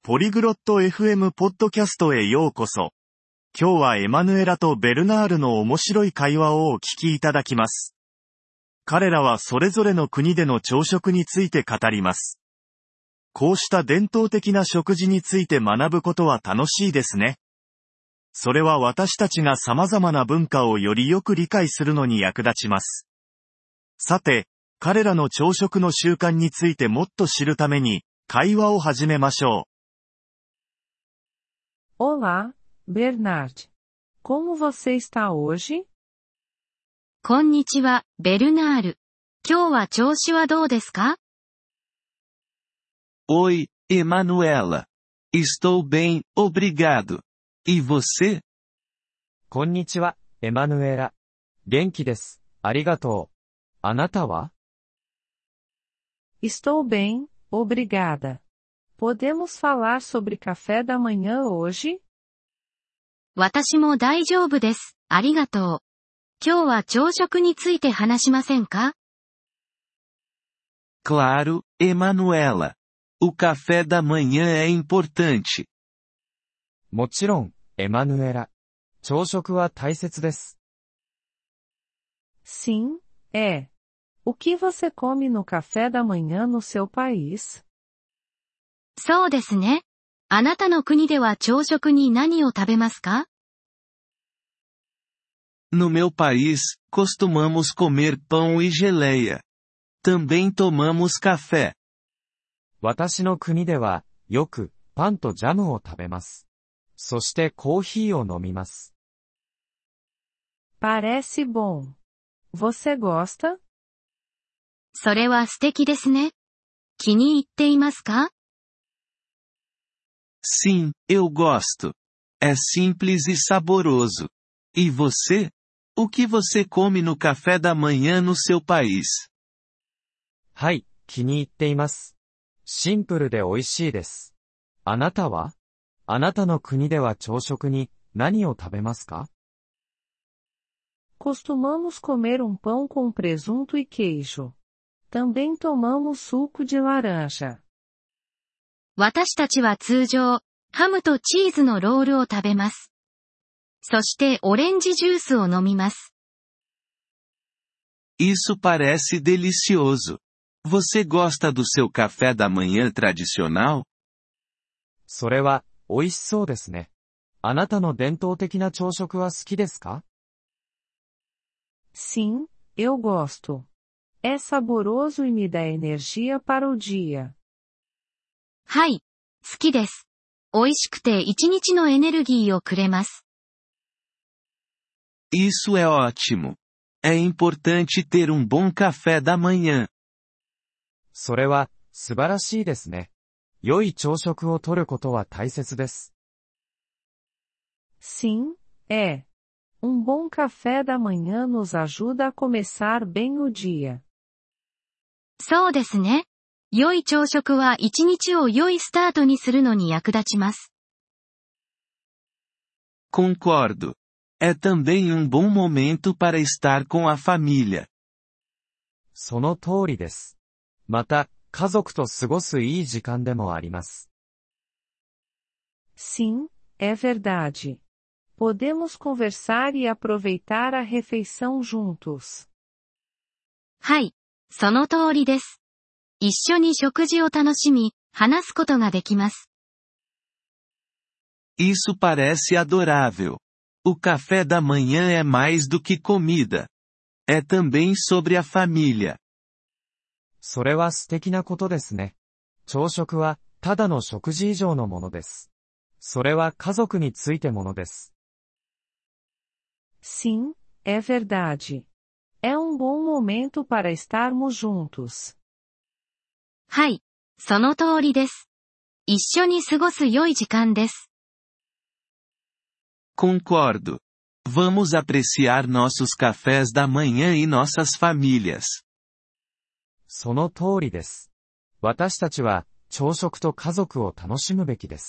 ポリグロット FM ポッドキャストへようこそ。今日はエマヌエラとベルナールの面白い会話をお聞きいただきます。彼らはそれぞれの国での朝食について語ります。こうした伝統的な食事について学ぶことは楽しいですね。それは私たちが様々な文化をよりよく理解するのに役立ちます。さて、彼らの朝食の習慣についてもっと知るために、会話を始めましょう。Olá, Bernard. Como você está hoje? こんにちは、ベルナール。今日は調子はどうですか？ Oi, Emanuela. Estou bem, obrigado. E você? こんにちは、エマヌエラ。元気です。ありがとう。あなたは？ Estou bem, obrigada. Podemos falar sobre café da manhã hoje? 私も大丈夫です。ありがとう。今日は朝食について話しませんか？ Claro, Emanuela. O café da manhã é importante. もちろん、エマヌエラ。朝食は大切です。 Sim, é. O que você come no café da manhã no seu país? そうですね。あなたの国では朝食に何を食べますか？ No meu país, costumamos comer pão e geleia. Também tomamos café. 私の国では、よく、パンとジャムを食べます。そしてコーヒーを飲みます。 Parece bom. Você gosta? それは素敵ですね。気に入っていますか？ Sim, eu gosto. É simples e saboroso. E você? O que você come no café da manhã no seu país? はい、気に入っています。シンプルで美味しいです。あなたは？あなたの国では朝食に何を食べますか？ Costumamos comer pão com presunto e queijo. Também tomamos suco de laranja. 私たちは通常、ハムとチーズのロールを食べます。そしてオレンジジュースを飲みます。 Isso parece delicioso. Você gosta do seu café da manhã tradicional? それは、美味しそうですね。あなたの伝統的な朝食は好きですか？ Sim, eu gosto. É saboroso e me dá energia para o dia. はい、好きです。美味しくて一日のエネルギーをくれます。 Isso é ótimo. É importante ter bom café da manhã. それは、素晴らしいですね。良い朝食をとることは大切です。 Sim, é. Bom café da manhã nos ajuda a começar bem o dia. そうですね。良い朝食は一日を良いスタートにするのに役立ちます。 Concordo. É também bom momento para estar com a família. その通りです。また、家族と過ごすいい時間でもあります。 Sim, é verdade. Podemos conversar e aproveitar a refeição juntos. はい、その通りです。一緒に食事を楽しみ、話すことができます。 Isso parece adorável. O café da manhã é mais do que comida. É também sobre a família. それは素敵なことですね。朝食は、ただの食事以上のものです。それは家族についてものです。 Sim, é verdade. É bom momento para estarmos juntos. はい、その通りです。一緒に過ごす良い時間です。 Concordo. Vamos apreciar nossos cafés da manhã e nossas famílias. その通りです。私たちは、朝食と家族を楽しむべきです。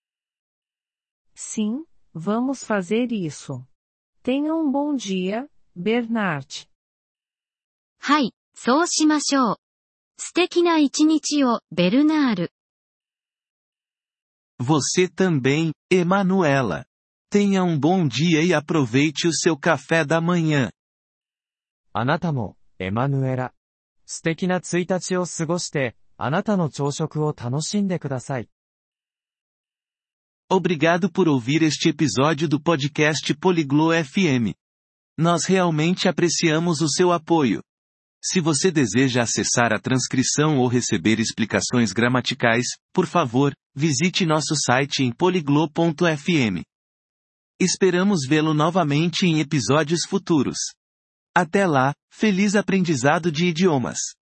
Sim, vamos fazer isso. Tenha bom dia, Bernard. はい、そうしましょう。素敵な一日を、ベルナール。 Você também, Emanuela. Tenha bom dia e aproveite o seu café da manhã. あなたも、エマヌエラ。素敵な1日を過ごして、あなたの朝食を楽しんでください。 Obrigado por ouvir este episódio do podcast Poliglo FM. Nós realmente apreciamos o seu apoio. Se você deseja acessar a transcrição ou receber explicações gramaticais, por favor, visite nosso site em poliglo.fm. Esperamos vê-lo novamente em episódios futuros. Até lá, feliz aprendizado de idiomas!